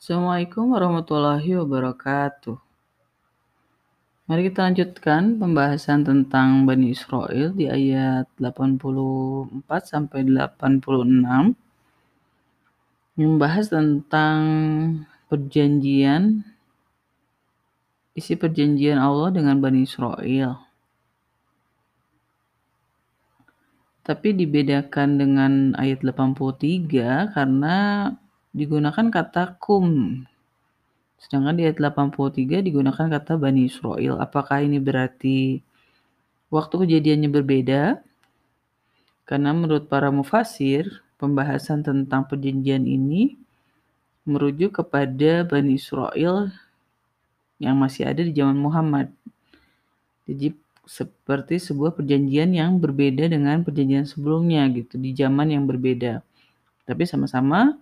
Assalamualaikum warahmatullahi wabarakatuh. Mari kita lanjutkan pembahasan tentang Bani Israil di ayat 84 sampai 86 membahas tentang isi perjanjian Allah dengan Bani Israil. Tapi dibedakan dengan ayat 83 karena digunakan kata kum. Sedangkan di ayat 83 digunakan kata Bani Israil. Apakah ini berarti waktu kejadiannya berbeda? Karena menurut para mufasir, pembahasan tentang perjanjian ini merujuk kepada Bani Israil yang masih ada di zaman Muhammad. Jadi seperti sebuah perjanjian yang berbeda dengan perjanjian sebelumnya gitu, di zaman yang berbeda. Tapi sama-sama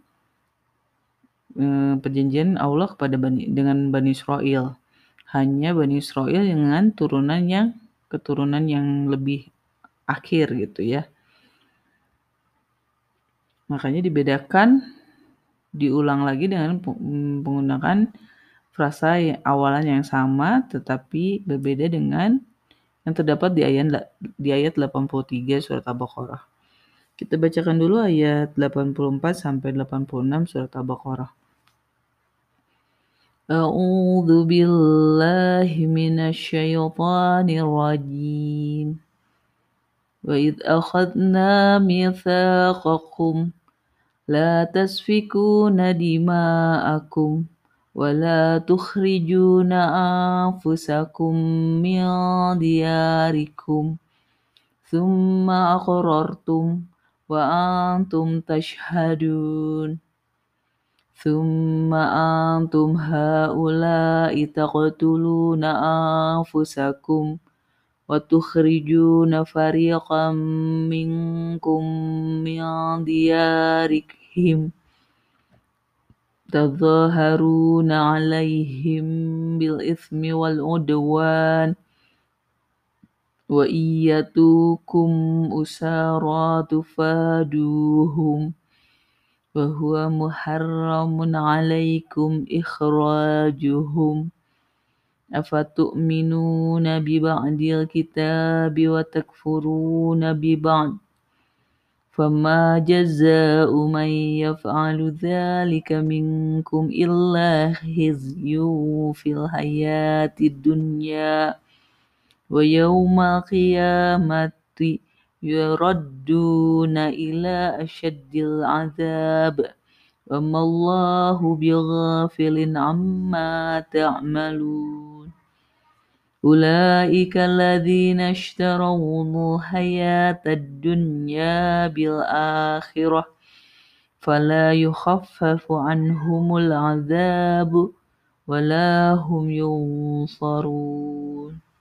perjanjian Allah dengan Bani Israil. Hanya Bani Israil dengan keturunan yang lebih akhir gitu ya. Makanya diulang lagi dengan menggunakan frasa awalan yang sama tetapi berbeda dengan yang terdapat di ayat 83 surat Al-Baqarah. Kita bacakan dulu ayat 84 sampai 86 surat Al-Baqarah. A'udzu billahi minasyaitonir rajim. Wa idz akhadna mitsaqakum la tasfikuna dima'akum wa la tukhrijuna anfusakum min diyarikum thumma aqrartum wa antum tashhadun thumma antum haula'i taqtuluna anfusakum wa tukhrijuna fariqan minkum min diyarihim tadhaharuna 'alaihim bil itsmi wal 'udwan wa iyyatukum usara tufaduhum wa huwa muharramun 'alaikum ikhrajuhum afatu'minuna bi ba'dil kitabi wa takfuruna bi ba'd fama jazaa'u man yaf'alu dzalika minkum illa khizyun fil hayatid dunya wa yawmal qiyamati yuradduna ila asyaddil 'adzab wa mallahu bighafilin 'amma ta'malun. Ulaika alladzina ishtaraw hayatad dunya bil akhirah fala yukhaffafu 'anhumul 'adzab wa la hum yunsarun.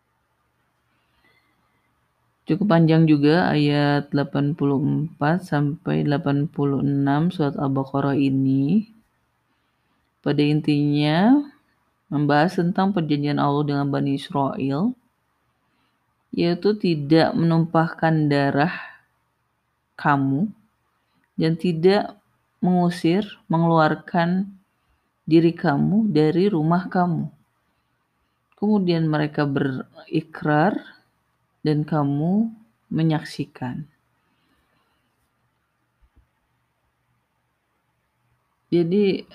Cukup panjang juga ayat 84 sampai 86 surat Al-Baqarah ini. Pada intinya membahas tentang perjanjian Allah dengan Bani Israil, yaitu tidak menumpahkan darah kamu dan tidak mengeluarkan diri kamu dari rumah kamu. Kemudian mereka berikrar dan kamu menyaksikan. Jadi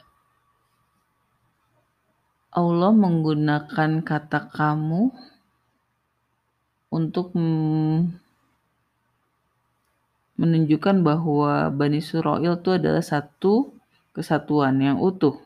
Allah menggunakan kata kamu untuk menunjukkan bahwa Bani Israil itu adalah satu kesatuan yang utuh.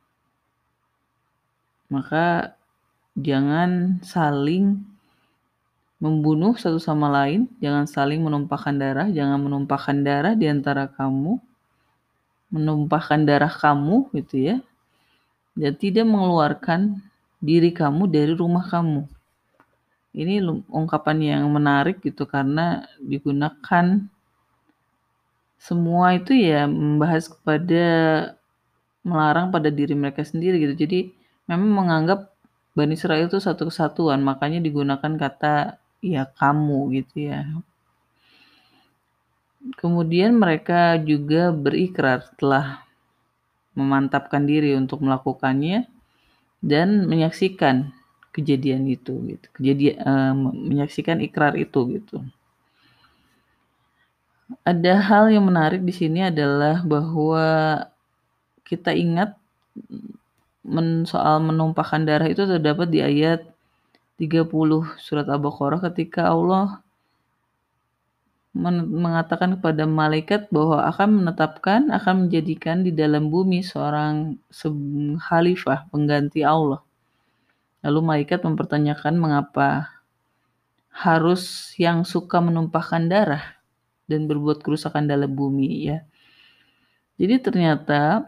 Maka jangan saling membunuh satu sama lain, jangan saling menumpahkan darah, jangan menumpahkan darah di antara kamu, menumpahkan darah kamu gitu ya. Dan tidak mengeluarkan diri kamu dari rumah kamu. Ini ungkapan yang menarik gitu karena digunakan semua itu ya membahas melarang pada diri mereka sendiri gitu. Jadi memang menganggap Bani Israil itu satu kesatuan, makanya digunakan kata ya kamu gitu ya. Kemudian mereka juga berikrar setelah memantapkan diri untuk melakukannya dan menyaksikan kejadian itu gitu. Menyaksikan ikrar itu gitu. Ada hal yang menarik di sini adalah bahwa kita ingat soal menumpahkan darah itu terdapat di ayat 30 surat Al-Baqarah ketika Allah mengatakan kepada malaikat bahwa akan menjadikan di dalam bumi seorang khalifah pengganti Allah. Lalu malaikat mempertanyakan mengapa harus yang suka menumpahkan darah dan berbuat kerusakan dalam bumi ya. Jadi ternyata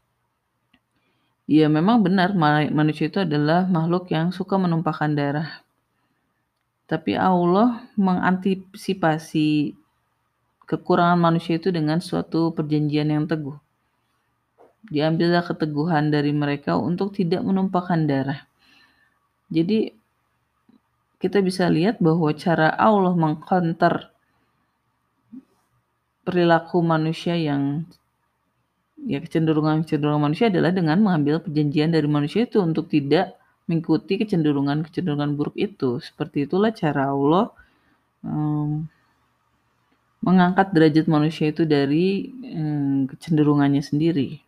ya memang benar manusia itu adalah makhluk yang suka menumpahkan darah. Tapi Allah mengantisipasi kekurangan manusia itu dengan suatu perjanjian yang teguh. Diambillah keteguhan dari mereka untuk tidak menumpahkan darah. Jadi kita bisa lihat bahwa cara Allah mengcounter perilaku manusia yang ya kecenderungan manusia adalah dengan mengambil perjanjian dari manusia itu untuk tidak mengikuti kecenderungan buruk itu. Seperti itulah cara Allah mengangkat derajat manusia itu dari kecenderungannya sendiri.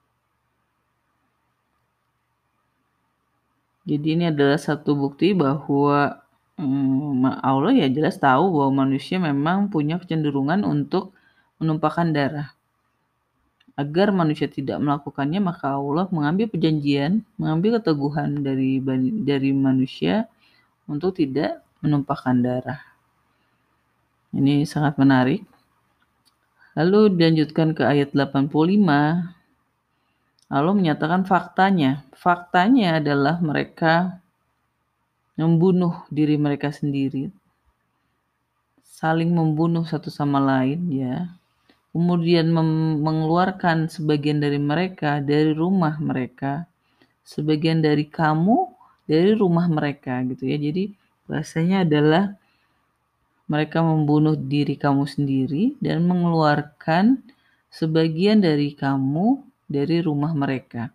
Jadi ini adalah satu bukti bahwa Allah ya jelas tahu bahwa manusia memang punya kecenderungan untuk menumpahkan darah. Agar manusia tidak melakukannya, maka Allah mengambil perjanjian, mengambil keteguhan dari manusia untuk tidak menumpahkan darah. Ini sangat menarik. Lalu dilanjutkan ke ayat 85. Allah menyatakan faktanya. Faktanya adalah mereka membunuh diri mereka sendiri. Saling membunuh satu sama lain ya. Kemudian mengeluarkan sebagian dari mereka dari rumah mereka, sebagian dari kamu dari rumah mereka gitu ya. Jadi bahasanya adalah mereka membunuh diri kamu sendiri dan mengeluarkan sebagian dari kamu dari rumah mereka.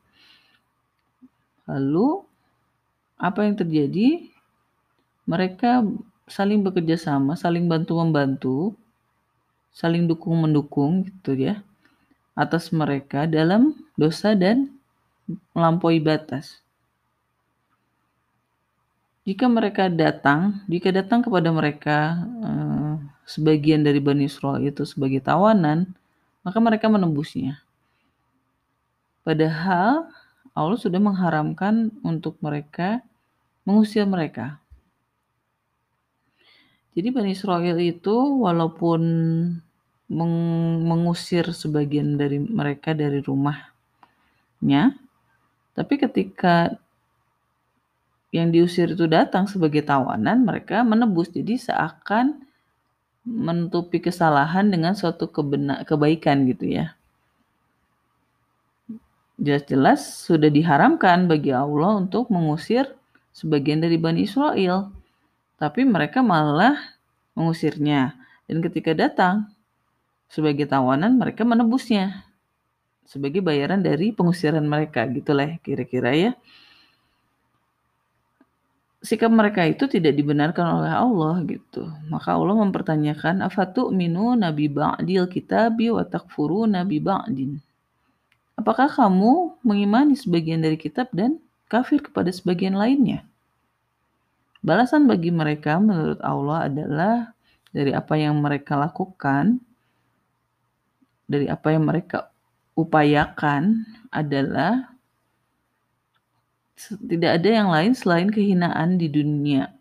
Lalu apa yang terjadi? Mereka saling bekerja sama, saling bantu-membantu, saling dukung-mendukung gitu ya atas mereka dalam dosa dan melampaui batas. Jika datang kepada mereka sebagian dari Bani Israil itu sebagai tawanan, maka mereka menembusnya. Padahal Allah sudah mengharamkan untuk mereka mengusir mereka. Jadi Bani Israil itu walaupun mengusir sebagian dari mereka dari rumahnya, tapi ketika yang diusir itu datang sebagai tawanan, mereka menebus. Jadi seakan menutupi kesalahan dengan suatu kebaikan gitu ya. Jelas-jelas sudah diharamkan bagi Allah untuk mengusir sebagian dari Bani Israel. Tapi mereka malah mengusirnya. Dan ketika datang sebagai tawanan, mereka menebusnya sebagai bayaran dari pengusiran mereka. Gitulah kira-kira ya. Sikap mereka itu tidak dibenarkan oleh Allah gitu. Maka Allah mempertanyakan afatu'minuna bi ba'dil kitabi wa takfuruna bi ba'din. Apakah kamu mengimani sebagian dari kitab dan kafir kepada sebagian lainnya? Balasan bagi mereka menurut Allah adalah dari apa yang mereka lakukan, dari apa yang mereka upayakan adalah tidak ada yang lain selain kehinaan di dunia.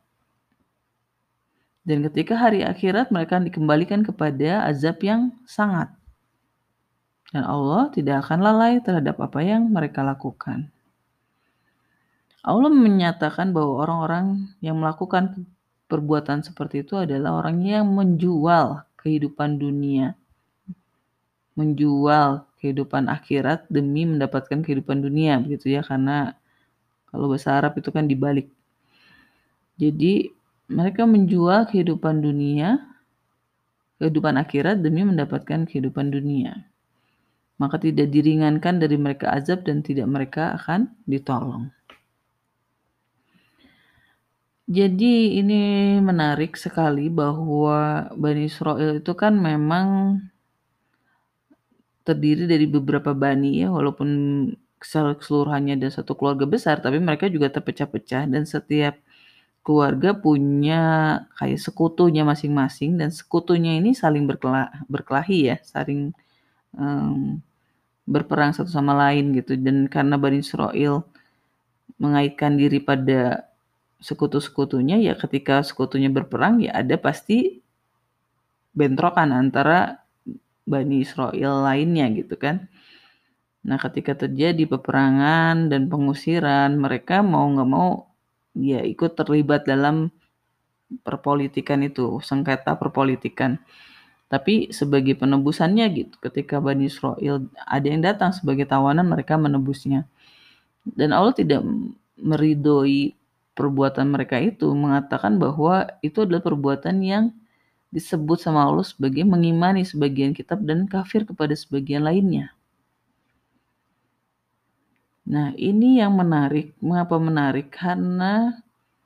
Dan ketika hari akhirat mereka dikembalikan kepada azab yang sangat. Dan Allah tidak akan lalai terhadap apa yang mereka lakukan. Allah menyatakan bahwa orang-orang yang melakukan perbuatan seperti itu adalah orang yang menjual kehidupan dunia, menjual kehidupan akhirat demi mendapatkan kehidupan dunia, begitu ya, karena kalau bahasa Arab itu kan dibalik. Jadi mereka menjual kehidupan dunia, kehidupan akhirat demi mendapatkan kehidupan dunia. maka tidak diringankan dari mereka azab dan tidak mereka akan ditolong. Jadi ini menarik sekali bahwa Bani Israil itu kan memang terdiri dari beberapa bani ya, walaupun keseluruhannya ada satu keluarga besar, tapi mereka juga terpecah-pecah dan setiap keluarga punya kayak sekutunya masing-masing dan sekutunya ini saling berkelahi ya, saling berperang satu sama lain gitu. Dan karena Bani Israil mengaitkan diri pada sekutu-sekutunya, ya ketika sekutunya berperang ya ada pasti bentrokan antara Bani Israil lainnya gitu kan. Nah ketika terjadi peperangan dan pengusiran, mereka mau nggak mau ya ikut terlibat dalam perpolitikan itu, sengketa perpolitikan. Tapi sebagai penebusannya gitu, ketika Bani Israil ada yang datang sebagai tawanan, mereka menebusnya. Dan Allah tidak meridhoi perbuatan mereka itu, mengatakan bahwa itu adalah perbuatan yang disebut sama Allah sebagai mengimani sebagian kitab dan kafir kepada sebagian lainnya. Nah, ini yang menarik. Mengapa menarik? Karena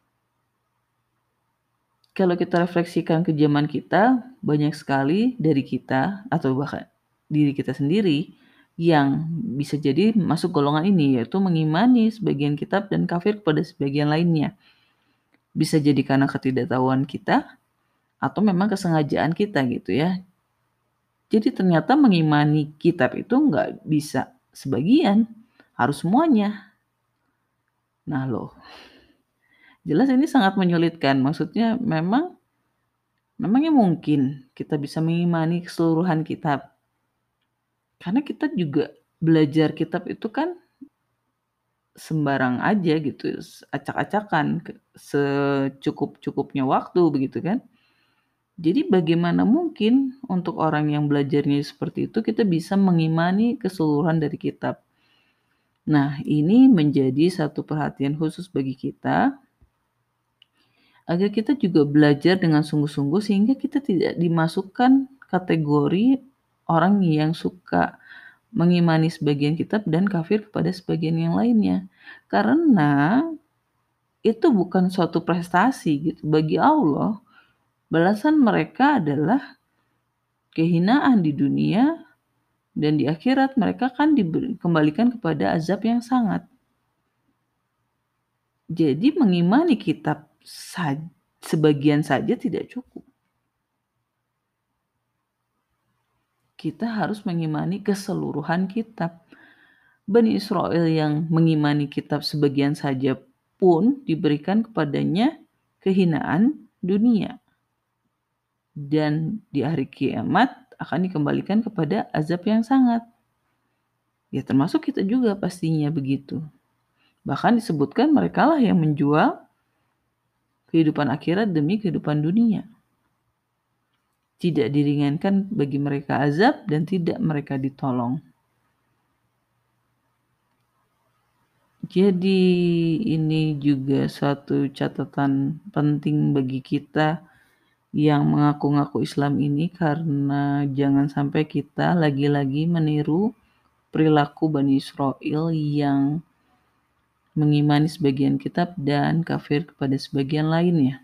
kalau kita refleksikan ke zaman kita, banyak sekali dari kita atau bahkan diri kita sendiri yang bisa jadi masuk golongan ini, yaitu mengimani sebagian kitab dan kafir kepada sebagian lainnya. Bisa jadi karena ketidaktahuan kita atau memang kesengajaan kita gitu ya. Jadi ternyata mengimani kitab itu nggak bisa sebagian, harus semuanya. Nah loh, jelas ini sangat menyulitkan. Maksudnya memangnya mungkin kita bisa mengimani keseluruhan kitab. Karena kita juga belajar kitab itu kan sembarang aja gitu, acak-acakan, secukup-cukupnya waktu begitu kan. Jadi bagaimana mungkin untuk orang yang belajarnya seperti itu kita bisa mengimani keseluruhan dari kitab. Nah, ini menjadi satu perhatian khusus bagi kita agar kita juga belajar dengan sungguh-sungguh sehingga kita tidak dimasukkan kategori orang yang suka mengimani sebagian kitab dan kafir kepada sebagian yang lainnya. Karena itu bukan suatu prestasi gitu. Bagi Allah, balasan mereka adalah kehinaan di dunia dan di akhirat mereka kan dikembalikan kepada azab yang sangat. Jadi mengimani kitab sebagian saja tidak cukup. Kita harus mengimani keseluruhan kitab. Bani Israil yang mengimani kitab sebagian saja pun diberikan kepadanya kehinaan dunia. Dan di hari kiamat akan dikembalikan kepada azab yang sangat. Ya termasuk kita juga pastinya begitu. Bahkan disebutkan merekalah yang menjual kehidupan akhirat demi kehidupan dunia. Tidak diringankan bagi mereka azab dan tidak mereka ditolong. Jadi ini juga suatu catatan penting bagi kita yang mengaku-ngaku Islam ini karena jangan sampai kita lagi-lagi meniru perilaku Bani Israil yang mengimani sebagian kitab dan kafir kepada sebagian lainnya.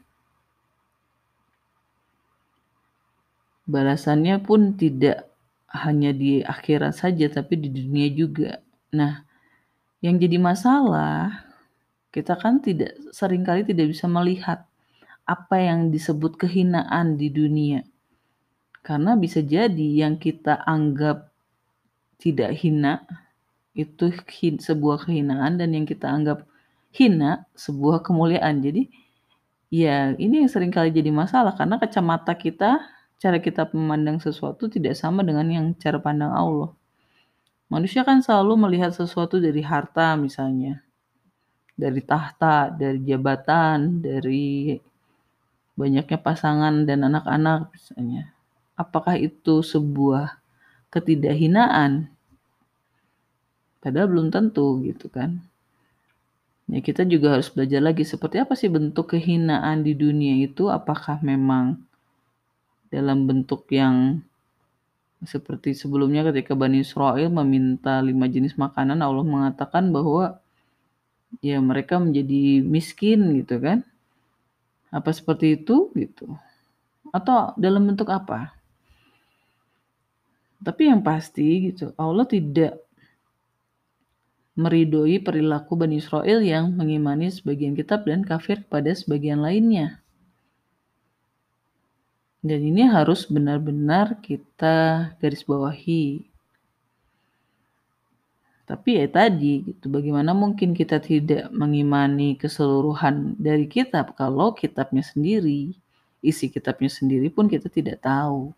Balasannya pun tidak hanya di akhirat saja tapi di dunia juga. Nah, yang jadi masalah kita kan seringkali tidak bisa melihat apa yang disebut kehinaan di dunia. Karena bisa jadi yang kita anggap tidak hina itu sebuah kehinaan dan yang kita anggap hina sebuah kemuliaan. Jadi ya ini yang seringkali jadi masalah karena kacamata kita, cara kita memandang sesuatu tidak sama dengan yang cara pandang Allah. Manusia kan selalu melihat sesuatu dari harta misalnya, dari tahta, dari jabatan, dari banyaknya pasangan dan anak-anak misalnya. Apakah itu sebuah ketidakhinaan? Padahal belum tentu gitu kan. Ya kita juga harus belajar lagi seperti apa sih bentuk kehinaan di dunia itu, apakah memang dalam bentuk yang Seperti sebelumnya ketika Bani Israil meminta 5 jenis makanan, Allah mengatakan bahwa ya mereka menjadi miskin gitu kan. Apa seperti itu gitu? Atau dalam bentuk apa? Tapi yang pasti gitu, Allah tidak meridhoi perilaku Bani Israil yang mengimani sebagian kitab dan kafir pada sebagian lainnya. Dan ini harus benar-benar kita garis bawahi. Tapi ya tadi gitu, bagaimana mungkin kita tidak mengimani keseluruhan dari kitab kalau kitabnya sendiri, isi kitabnya sendiri pun kita tidak tahu.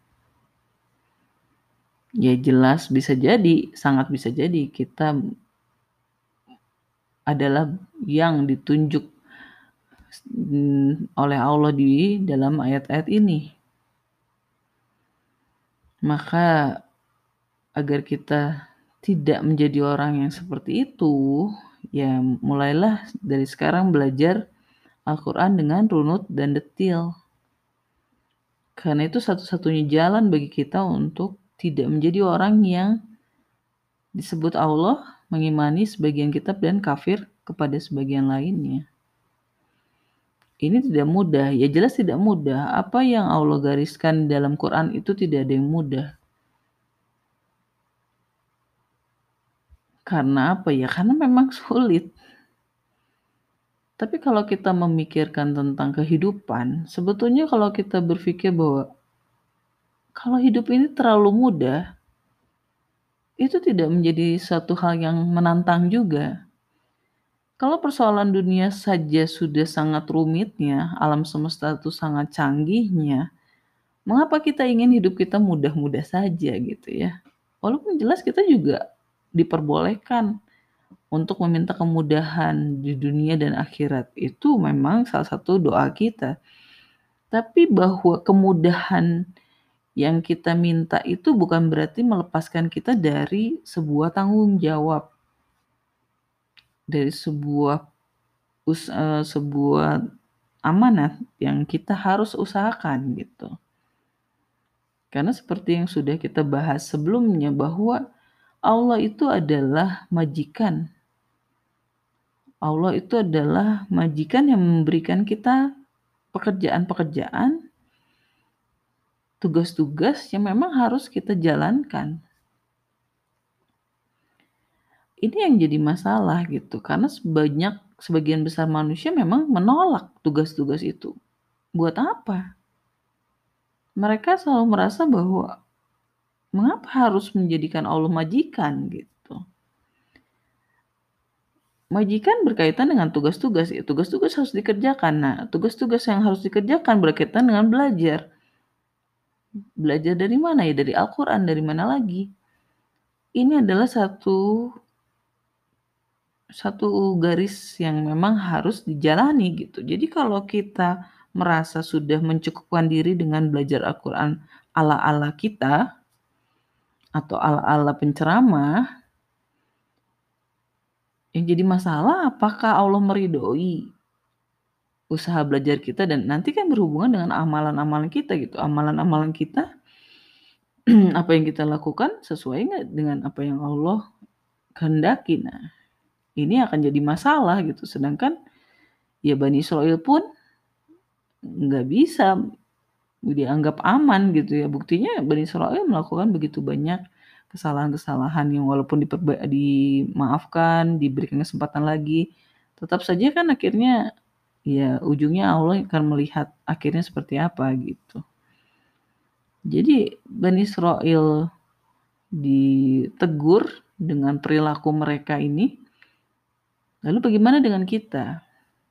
Ya jelas bisa jadi, sangat bisa jadi kita adalah yang ditunjuk oleh Allah di dalam ayat-ayat ini. Maka agar kita tidak menjadi orang yang seperti itu, ya mulailah dari sekarang belajar Al-Quran dengan runut dan detil. Karena itu satu-satunya jalan bagi kita untuk tidak menjadi orang yang disebut Allah mengimani sebagian kitab dan kafir kepada sebagian lainnya. Ini tidak mudah, ya jelas tidak mudah. Apa yang Allah gariskan dalam Quran itu tidak ada yang mudah. Karena apa ya? Karena memang sulit. Tapi kalau kita memikirkan tentang kehidupan, sebetulnya kalau kita berpikir bahwa kalau hidup ini terlalu mudah, itu tidak menjadi satu hal yang menantang juga. Kalau persoalan dunia saja sudah sangat rumitnya, alam semesta itu sangat canggihnya, mengapa kita ingin hidup kita mudah-mudah saja gitu ya? Walaupun jelas kita juga diperbolehkan untuk meminta kemudahan di dunia dan akhirat. Itu memang salah satu doa kita. Tapi bahwa kemudahan yang kita minta itu bukan berarti melepaskan kita dari sebuah tanggung jawab, dari sebuah amanat yang kita harus usahakan gitu. Karena seperti yang sudah kita bahas sebelumnya bahwa Allah itu adalah majikan. Allah itu adalah majikan yang memberikan kita pekerjaan-pekerjaan, tugas-tugas yang memang harus kita jalankan. Ini yang jadi masalah gitu, karena sebagian besar manusia memang menolak tugas-tugas itu. Buat apa? Mereka selalu merasa bahwa mengapa harus menjadikan Allah majikan gitu. Majikan berkaitan dengan tugas-tugas, ya tugas-tugas harus dikerjakan. Nah, tugas-tugas yang harus dikerjakan berkaitan dengan belajar. Belajar dari mana ya? Dari Al-Quran, dari mana lagi? Ini adalah satu garis yang memang harus dijalani gitu. Jadi kalau kita merasa sudah mencukupkan diri dengan belajar Al-Quran ala-ala kita atau ala-ala penceramah, yang jadi masalah apakah Allah meridhoi usaha belajar kita, dan nanti kan berhubungan dengan amalan-amalan kita gitu. Amalan-amalan kita apa yang kita lakukan sesuai nggak dengan apa yang Allah kehendaki. Nah, ini akan jadi masalah gitu. Sedangkan ya Bani Israil pun nggak bisa dianggap aman gitu ya. Buktinya Bani Israil melakukan begitu banyak kesalahan-kesalahan yang walaupun dimaafkan, diberikan kesempatan lagi, tetap saja kan akhirnya ya ujungnya Allah akan melihat akhirnya seperti apa gitu. Jadi Bani Israil ditegur dengan perilaku mereka ini. Lalu bagaimana dengan kita?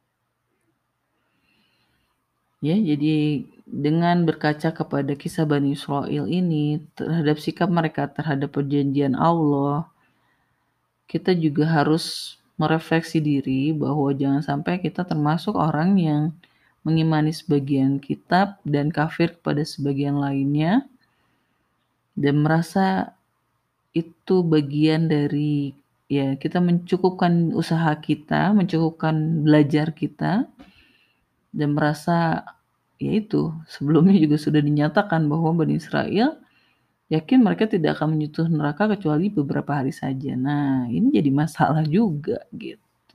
Ya, jadi dengan berkaca kepada kisah Bani Israil ini terhadap sikap mereka terhadap perjanjian Allah, kita juga harus merefleksi diri bahwa jangan sampai kita termasuk orang yang mengimani sebagian kitab dan kafir kepada sebagian lainnya dan merasa itu bagian dari ya kita mencukupkan usaha kita, mencukupkan belajar kita, dan merasa ya itu sebelumnya juga sudah dinyatakan bahwa Bani Israil yakin mereka tidak akan menyentuh neraka kecuali beberapa hari saja. Nah, ini jadi masalah juga gitu.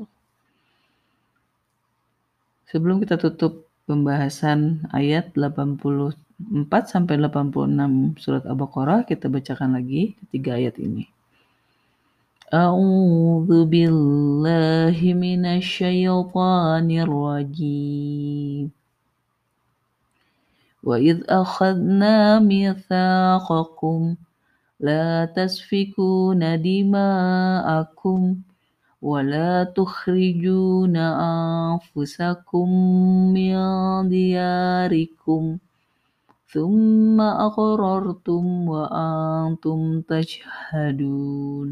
Sebelum kita tutup pembahasan ayat 84 sampai 86 surat Al-Baqarah, kita bacakan lagi ketiga ayat ini. A'udzu billahi minasyaitonir rajim. Wa idz akhadna mitsaqakum la tasfikuna dima'akum wa la tukhrijuna anfusakum min diyarikum thumma aqrartum wa antum tashhadun.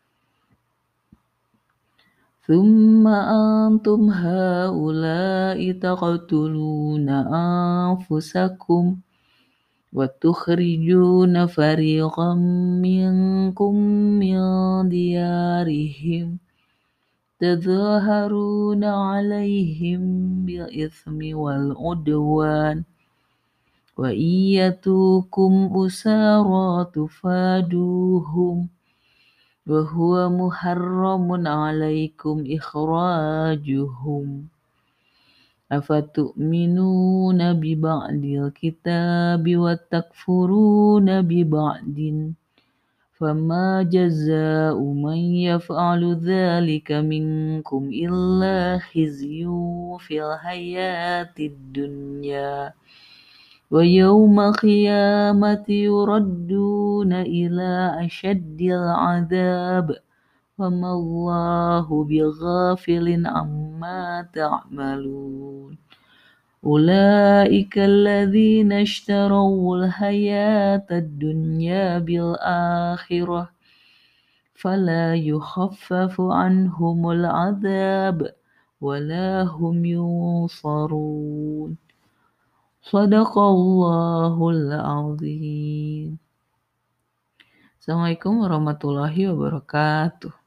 ثم أنتم هؤلاء تقتلون أنفسكم وتخرجون فريقا منكم من ديارهم تظاهرون عليهم بالإثم والعدوان وإن يأتوكم أسارى تفادوهم وهو محرم عليكم إخراجهم أفتؤمنون ببعض الكتاب وتكفرون ببعض فما جزاء من يفعل ذلك منكم إلا خزي في الحياة الدنيا ويوم القيامة يردون إلى أشد العذاب وما الله بغافل عما تعملون أولئك الذين اشتروا الحياة الدنيا بالآخرة فلا يخفف عنهم العذاب ولا هم ينصرون Shadaqallahul azim. Assalamualaikum warahmatullahi wabarakatuh.